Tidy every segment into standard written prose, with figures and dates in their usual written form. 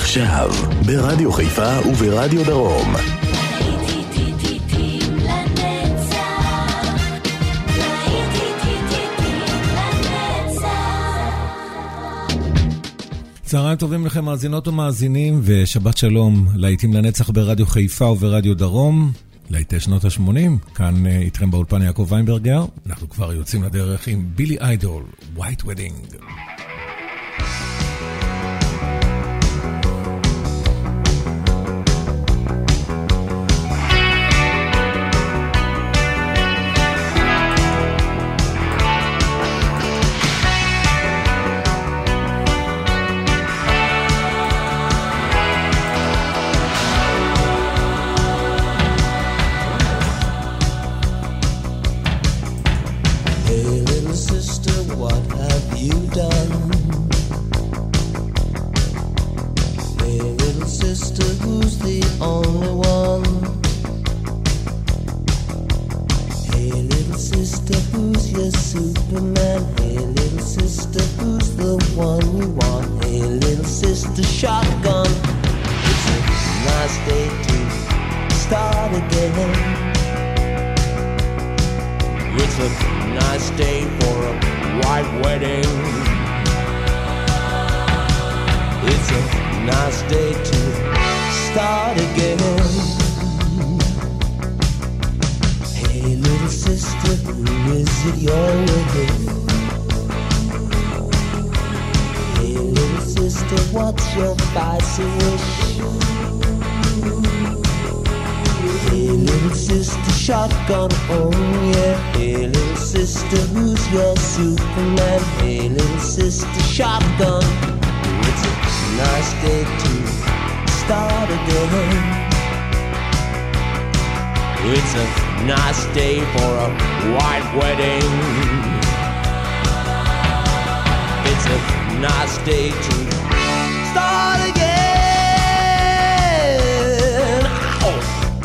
עכשיו, ברדיו חיפה וברדיו דרום. צהריים טובים לכם מאזינות ומאזינים, ושבת שלום. להיטים לנצח ברדיו חיפה וברדיו דרום. להיטי שנות ה-80, כאן איתכם באולפן יעקב ויינברגר. אנחנו כבר יוצאים לדרך עם בילי איידול, White Wedding. It's a nice day for a white wedding. It's a nice day to start again. Ow.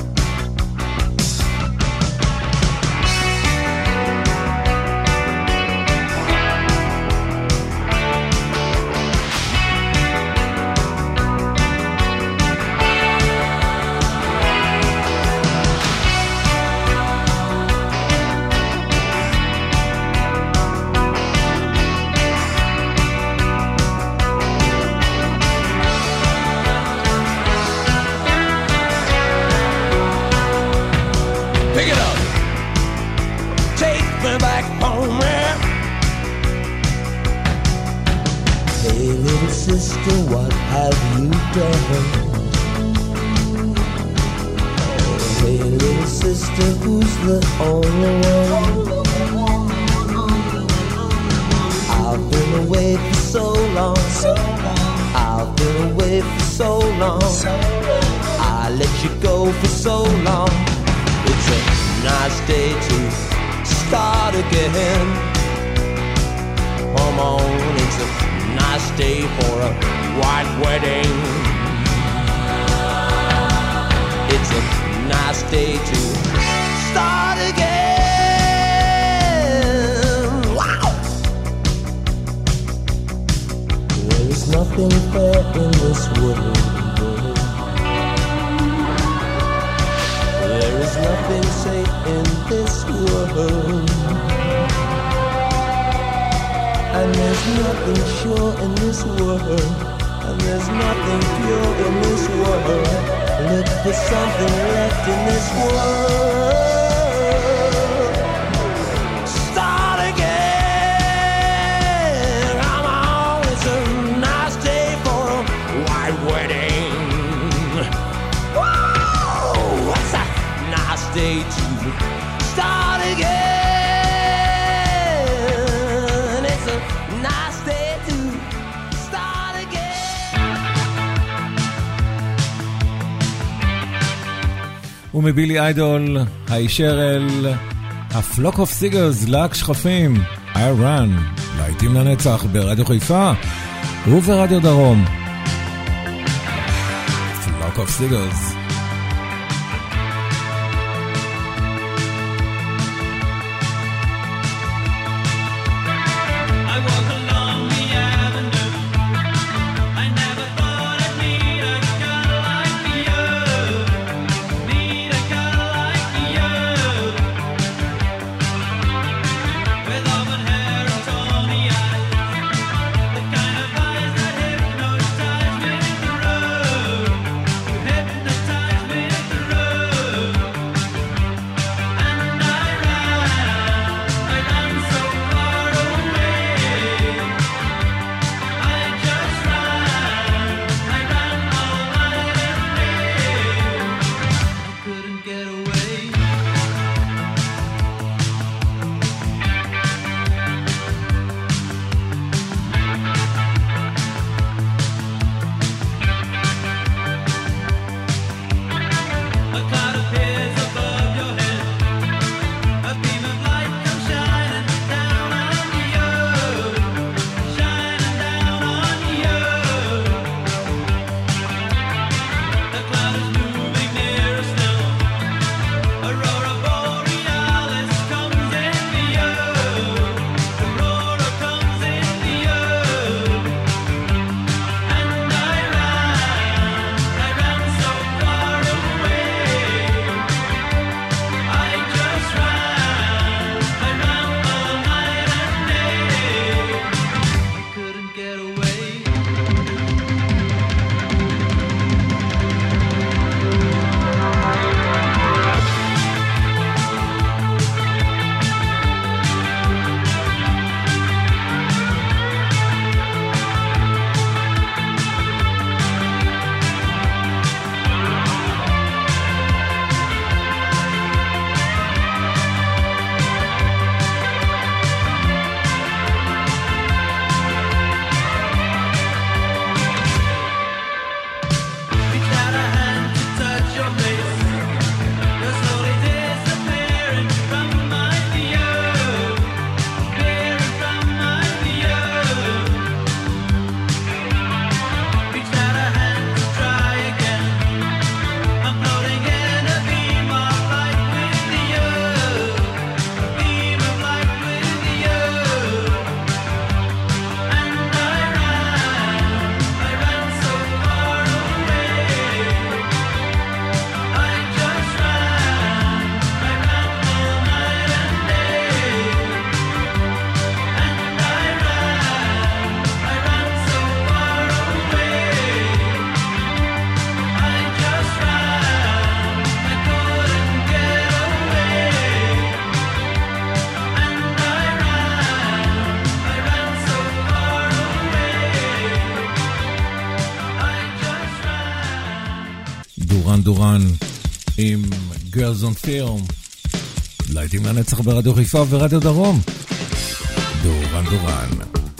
Sister, what have you done? Hey, little sister, who's the only one? I've been away for so long. I've been away for so long. I let you go for so long. It's a nice day to start again. Come on, it's a nice day for a white wedding. It's a nice day to start again. Wow! There is nothing fair in this world. There is nothing safe in this world. And there's nothing sure in this world. And there's nothing pure in this world. Look for something left in this world. Start again. Come on, it's a nice day for a white wedding. Whoa, what's a nice day to start again. ומבילי איידול, הישר אל הפלוק אוף סיגרס, להק שכפים, I run, להיטים לנצח ברדיו חיפה וברדיו דרום. פלוק אוף סיגרס. I walk along the avenue. I never thought I'd meet דורן דורן עם Girls on Film. להיטים לנצח ברדיו חיפה ורדיו דרום. דורן דורן.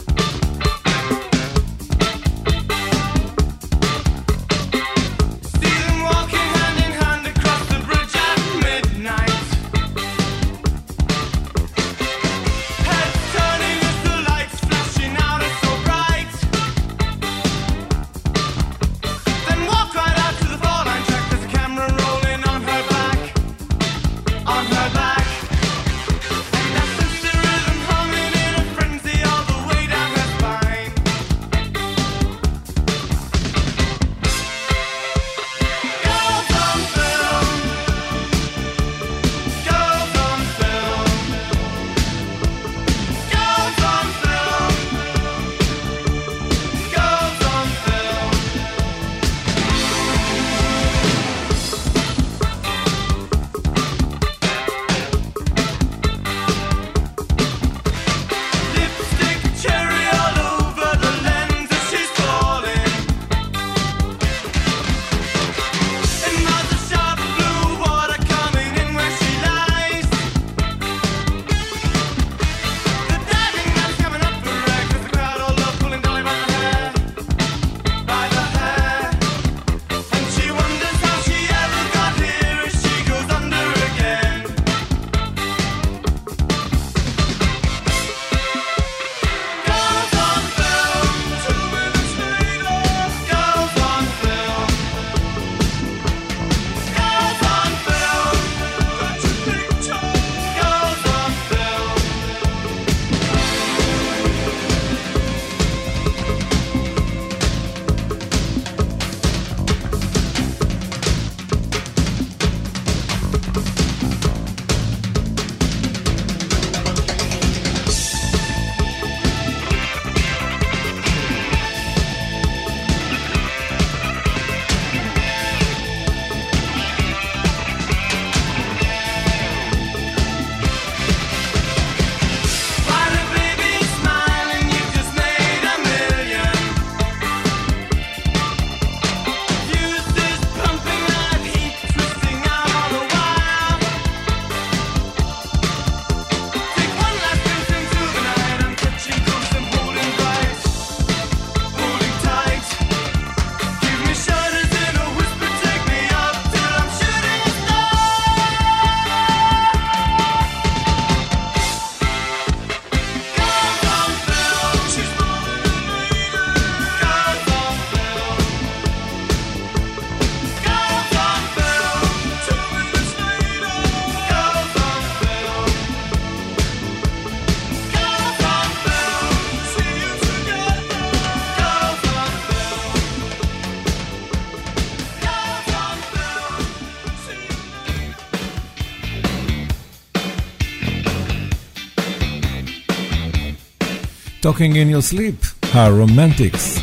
Talking in Your Sleep, הרומנטיקס.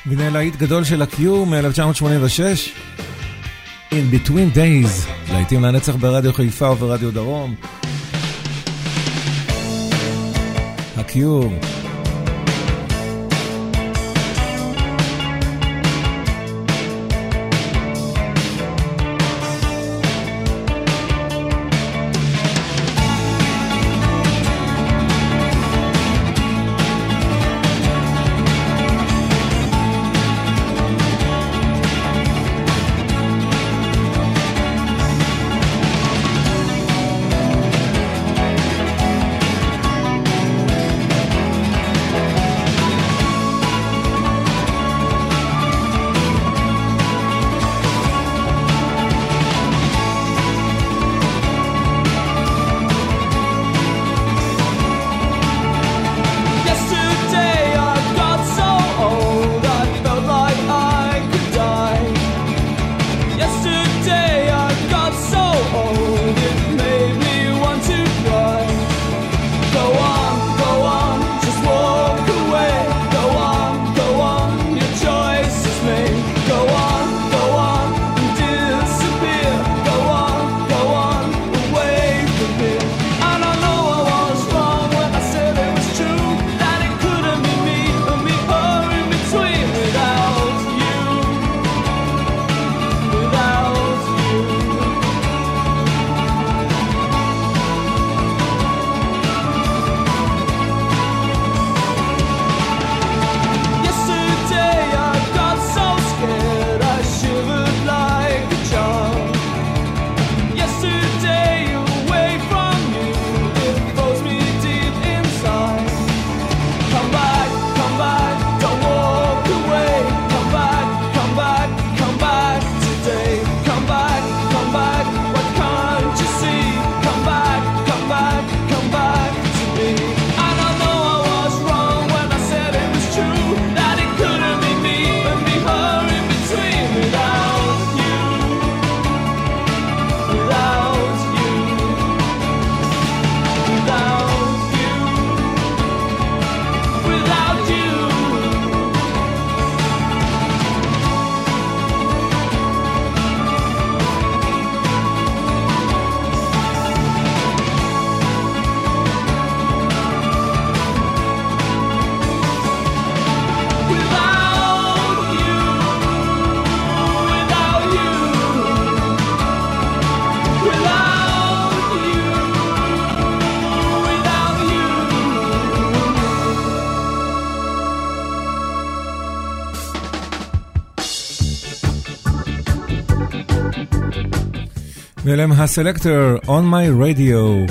והנה להיט גדול של הקיור מ-1986, In Between Days, להיטים לנצח ברדיו חיפה וברדיו דרום. הקיור. ואלם הסלקטור On My Radio.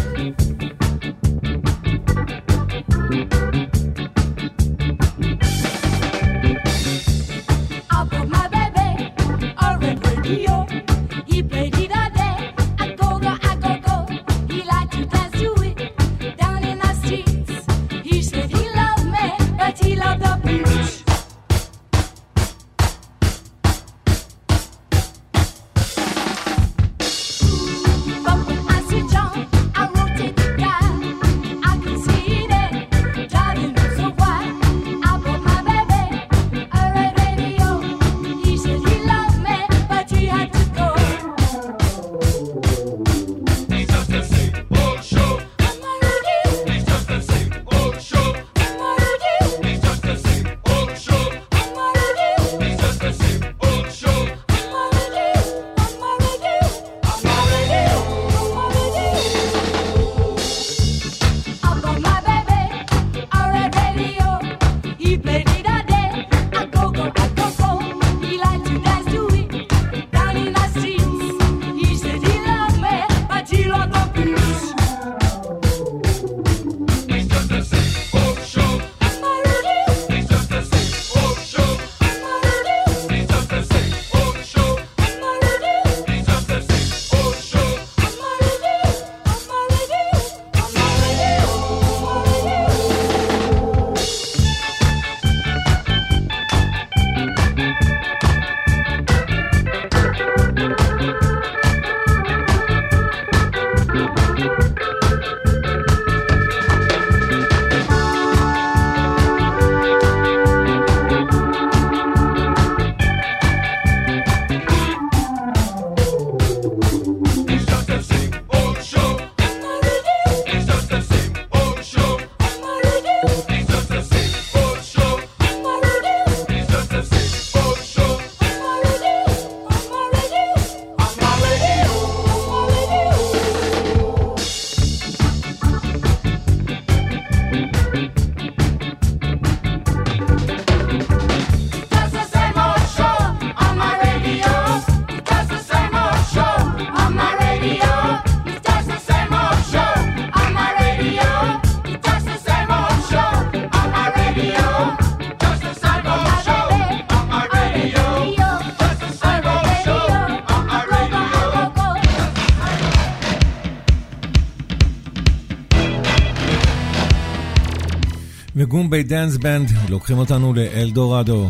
גומבי דנס בנד, לוקחים אותנו לאלדורדו.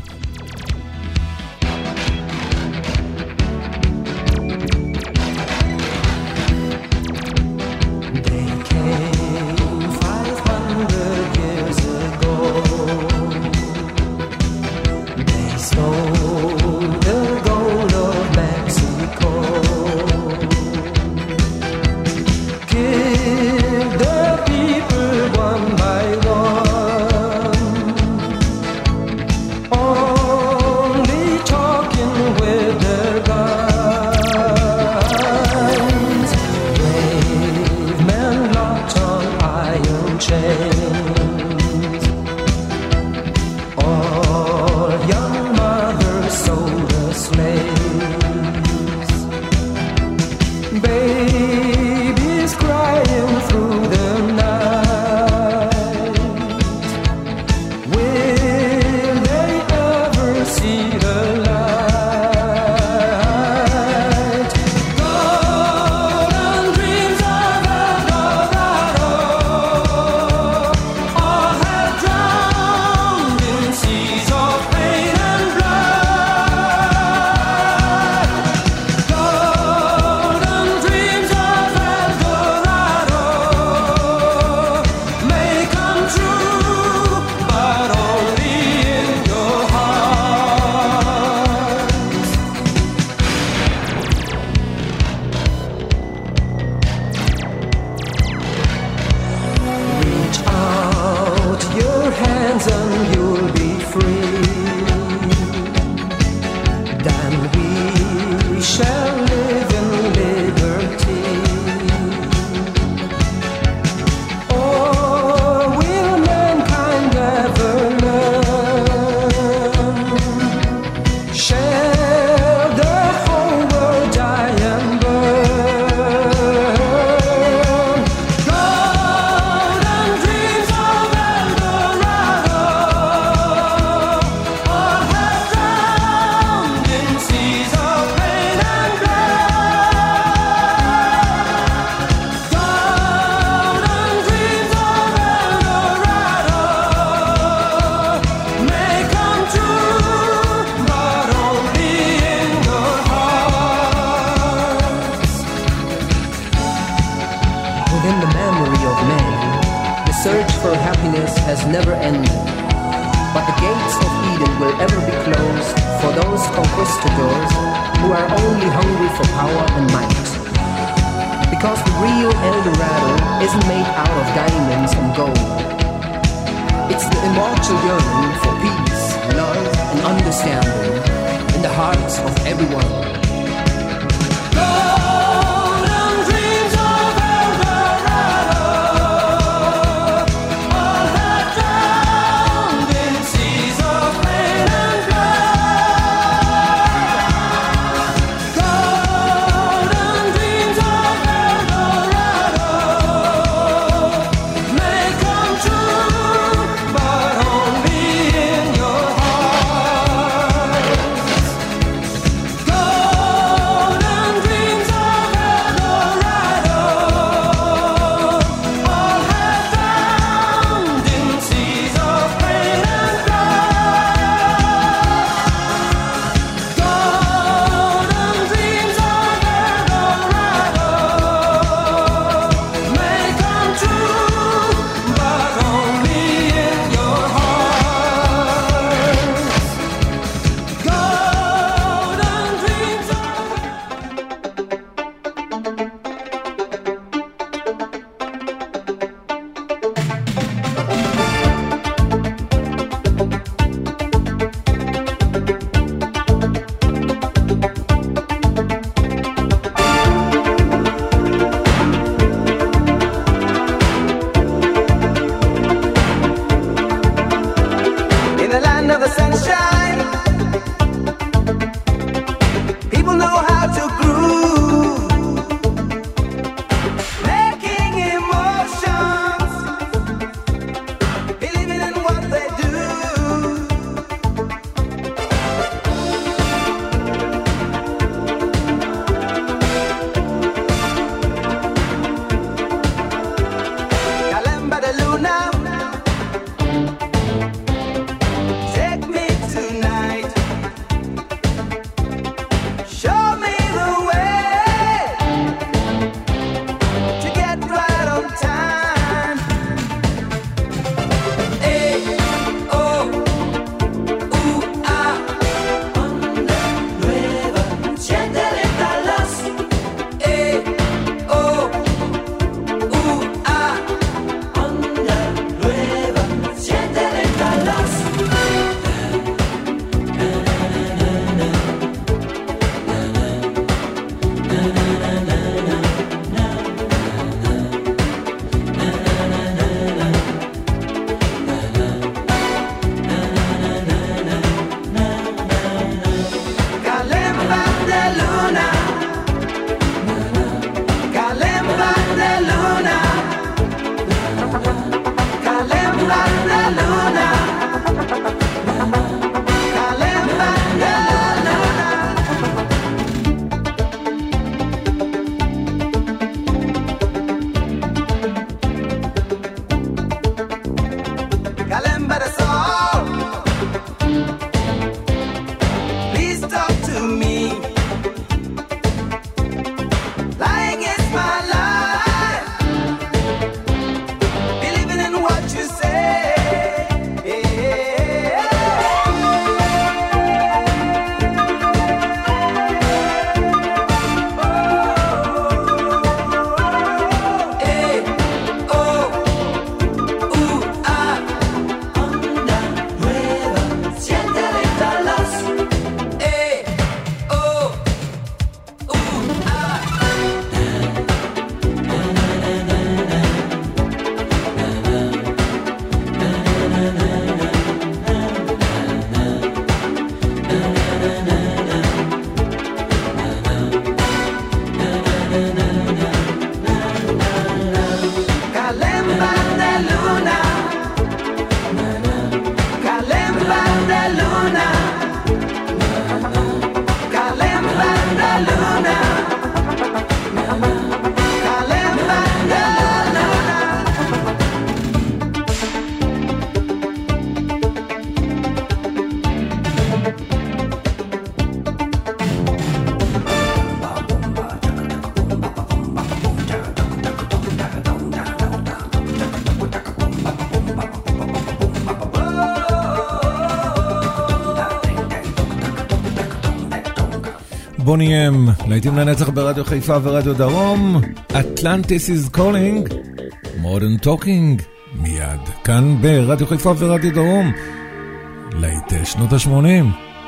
בוני אם, להיטים לנצח ברדיו חיפה ורדיו דרום. Atlantis is calling, Modern Talking, מיד כאן ברדיו חיפה ורדיו דרום, להיטי שנות ה-80.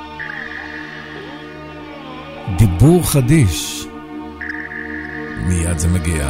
דיבור חדיש, מיד זה מגיע.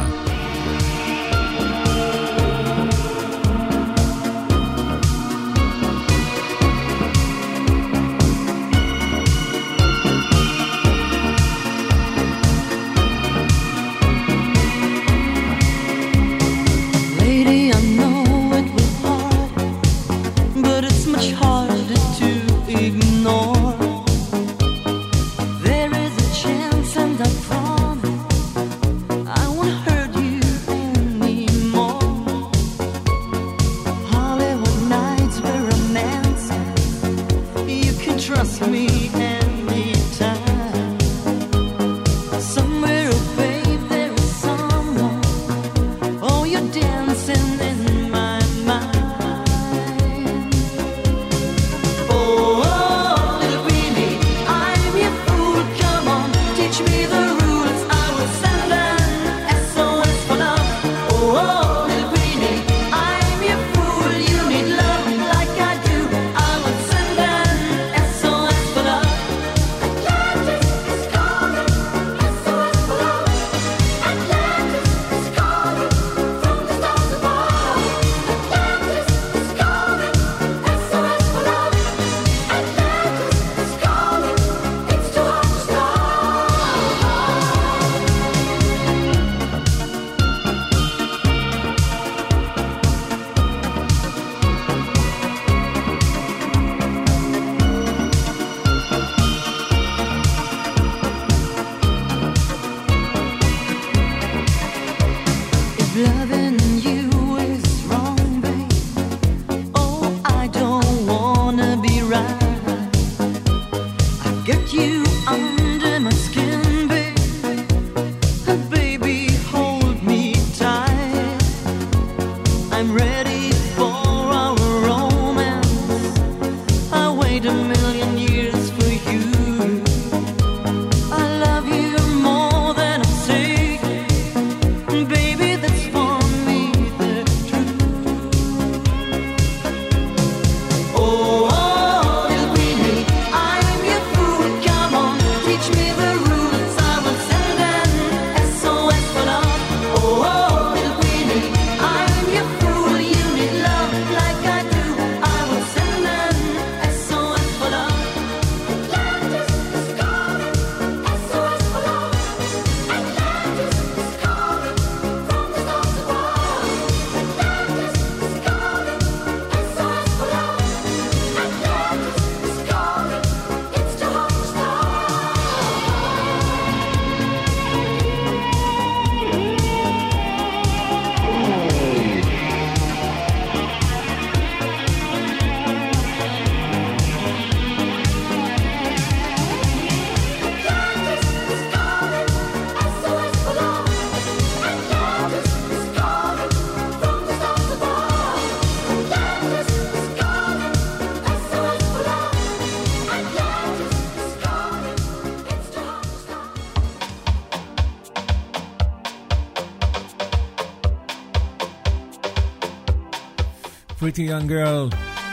Pretty Young Girl,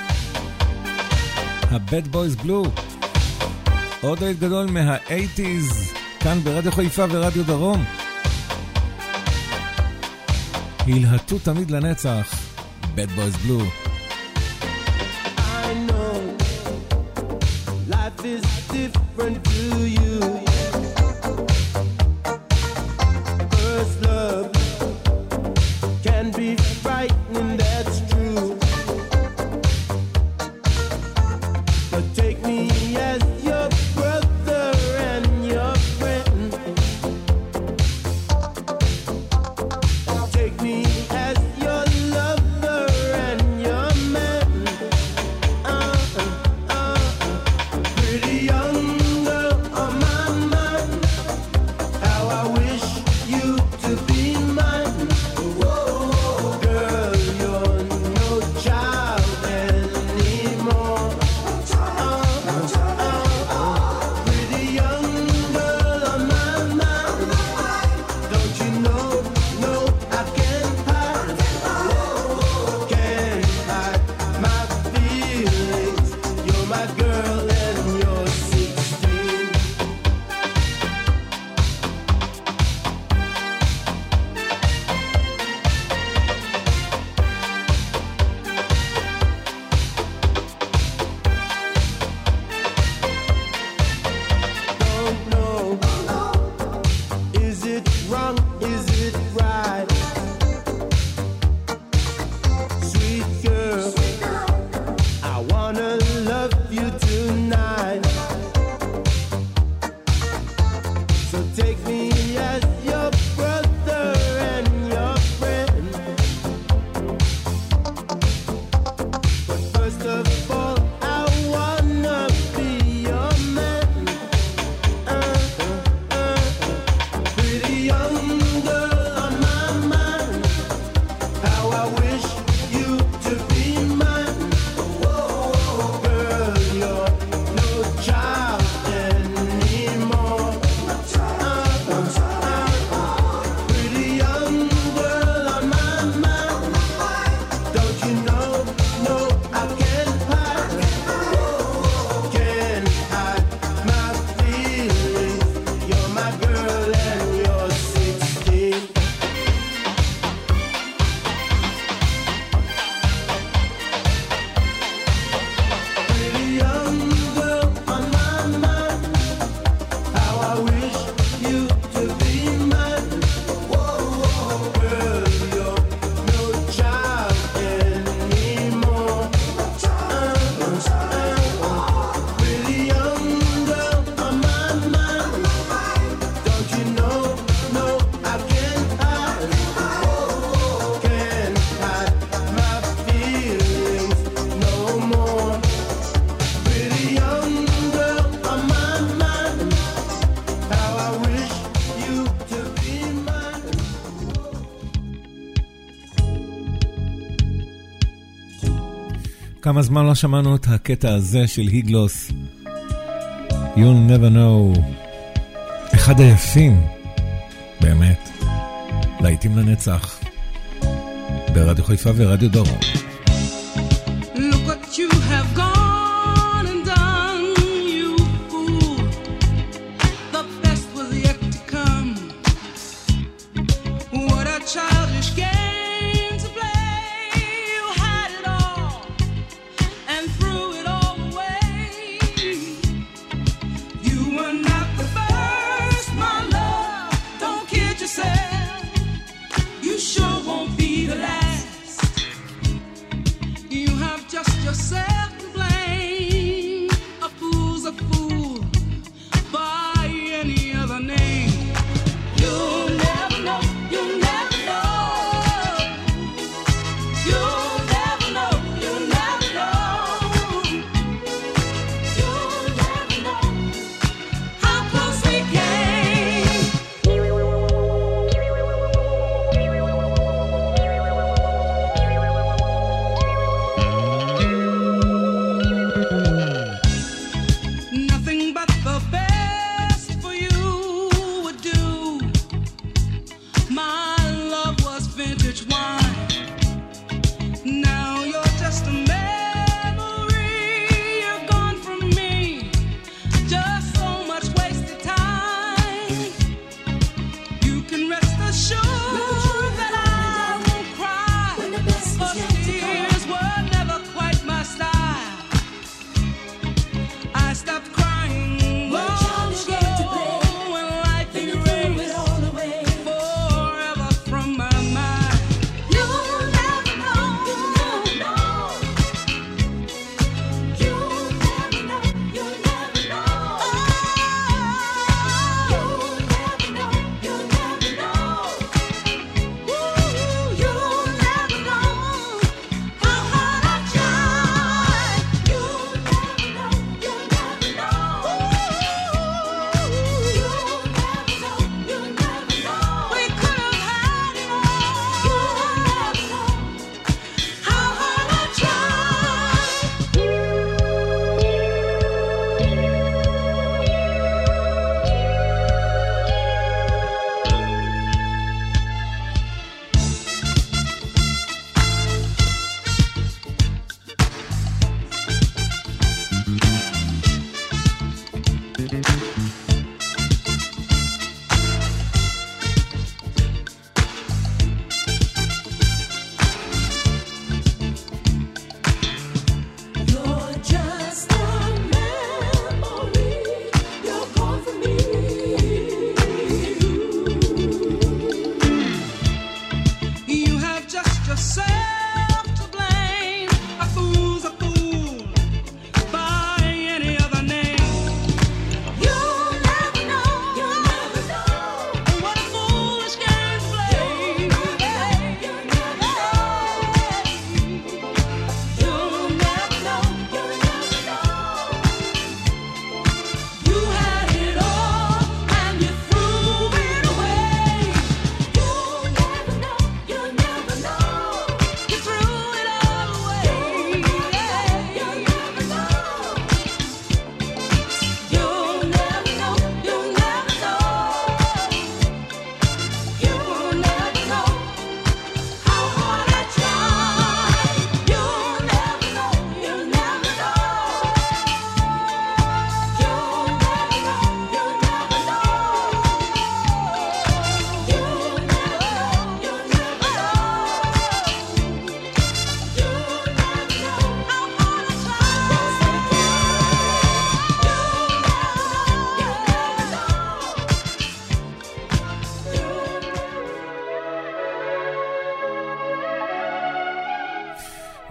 ה-Bad Boys Blue, עוד היית גדול מה-80s, כאן ברדיו חיפה ורדיו דרום. הלהטו תמיד לנצח, Bad Boys Blue. I know life is different to you. First love can be frightening, that's true. But take me as your brother and your friend. Take me as your lover and your man. Pretty young girl on my mind. How I wish you to be mine. Girl, you're no child anymore. my girl and you're 16. Don't know, is it wrong, is it right? Sweet girl, I wanna love you tonight. So take me as your brother and your friend. But first of all, I wanna be your man. Pretty young girl on my mind. How I wish you to be mine. Girl, you're no child anymore. Pretty young girl on my mind. Don't you know? No, I can't hide. Can't hide my feelings. You're my girl and you're 16. Pretty young girl on my mind. How I wish you to be mine. Girl, you're no child anymore. Pretty young girl on my mind. Don't you know? No, I can't hide. Can't hide my feelings no more. Pretty young girl on my mind. How I wish you to be mine. כמה זמן לא שמענו את הקטע הזה של היגלוס. You'll never know. אחד היפים, באמת. להיטים לנצח. ברדיו חיפה ורדיו דרום. Look what you have gone and done, you fool. The best was yet to come. What a childish game to play. You had it all and threw it all away. You were not the first, my love. Don't kid yourself. You sure won't be the last. You have just yourself to blame. A fool's a fool by any other name. You'll never know, you'll never know. You'll never know, you'll never know. You'll never know how close we came.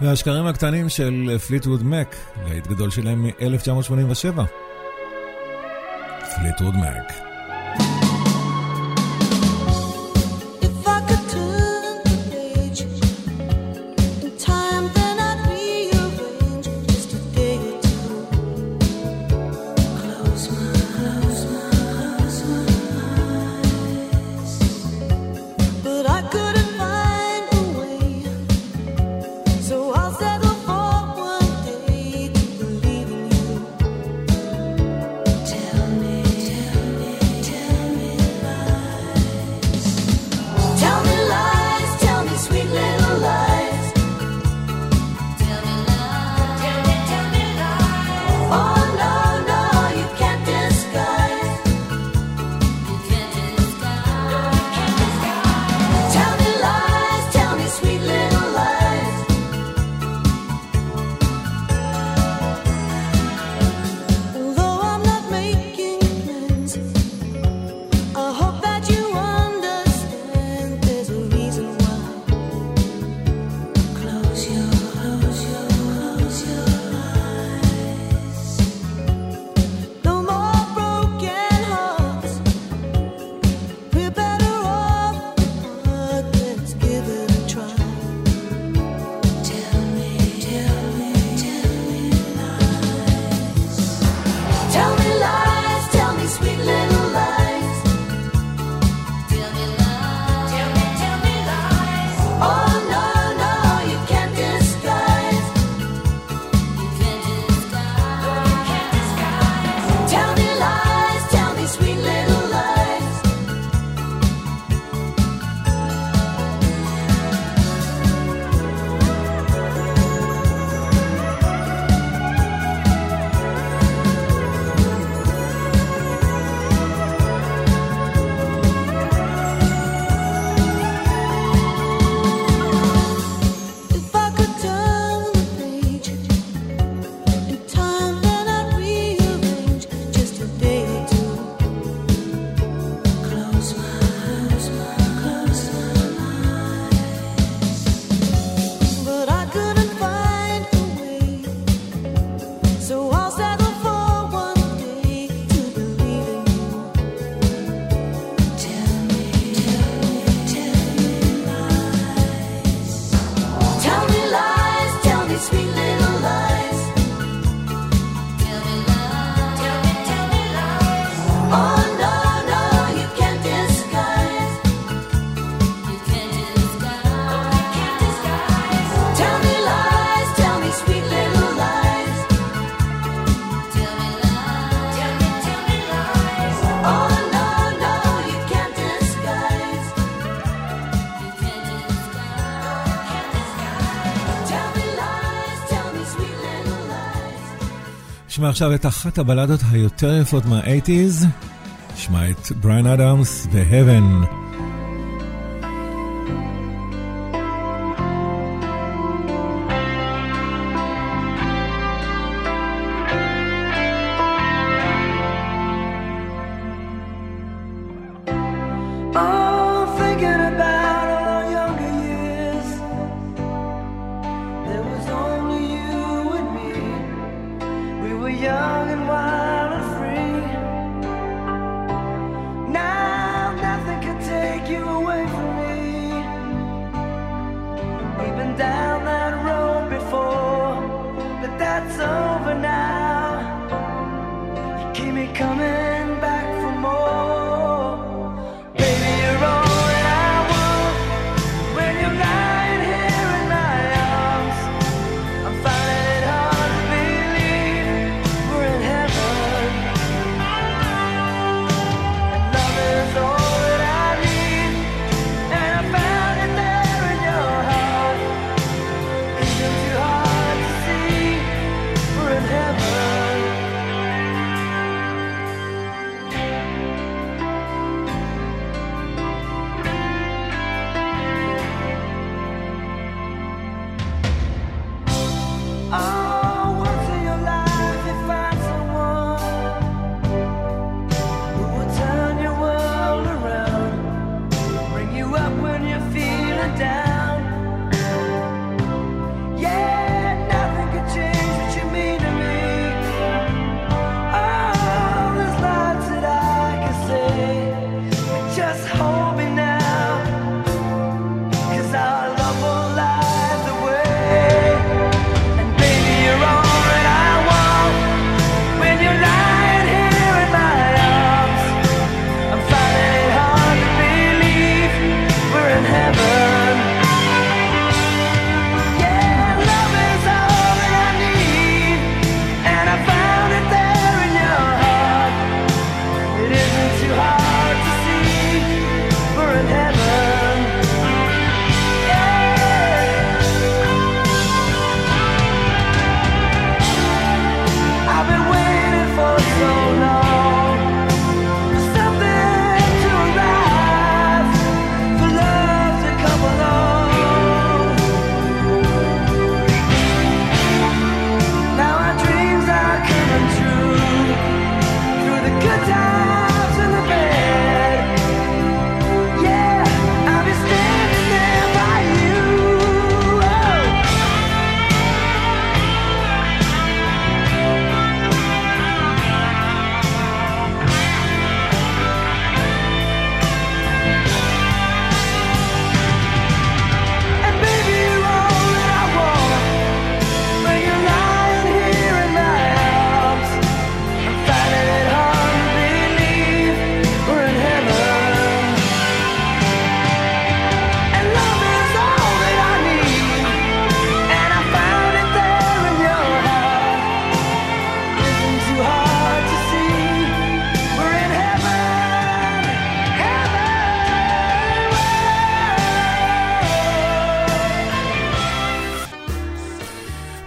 והשקרים הקטנים של פליטווד מק, להיט גדול שלהם מ-1987. פליטווד מק. נשמע עכשיו את אחת הבלדות היותר יפות מה-80s, נשמע את בריאן אדמס ו-Heaven.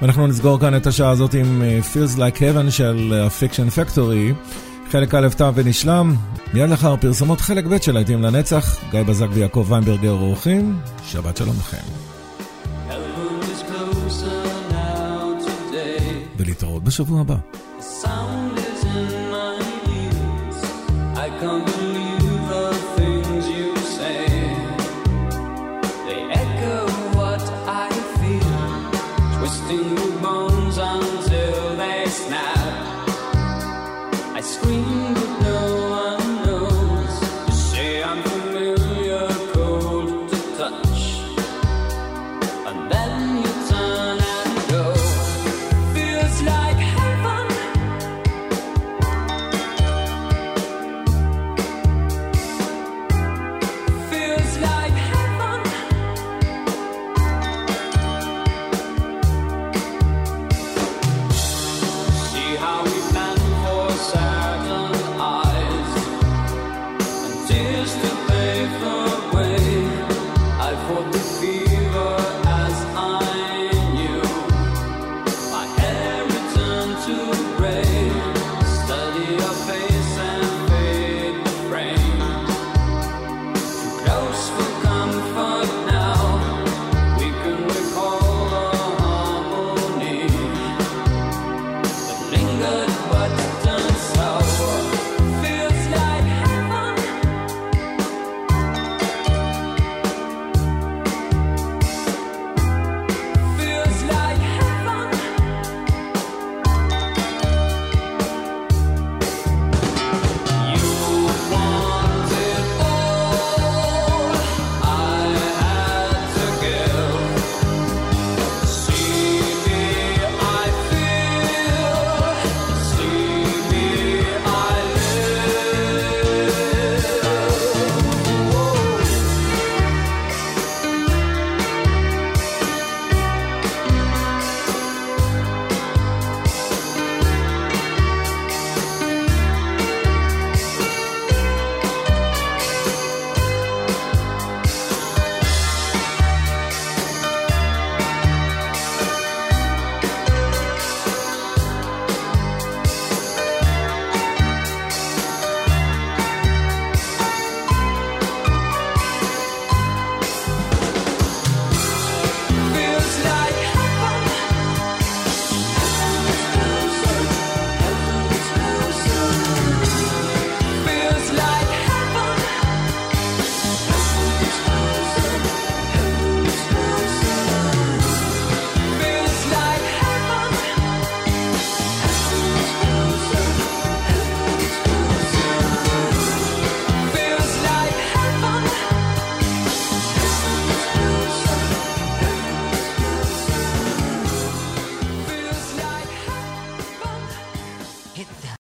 אנחנו נסגור כאן את השעה הזאת עם Feels Like Heaven של Fiction Factory. חלק א' תם ונשלם. מיד לאחר פרסומות חלק ב' של להיטים לנצח. גיא בזק ויעקב ויינברגר אורחים. שבת שלום לכם. ולהתראות בשבוע הבא. Sound is in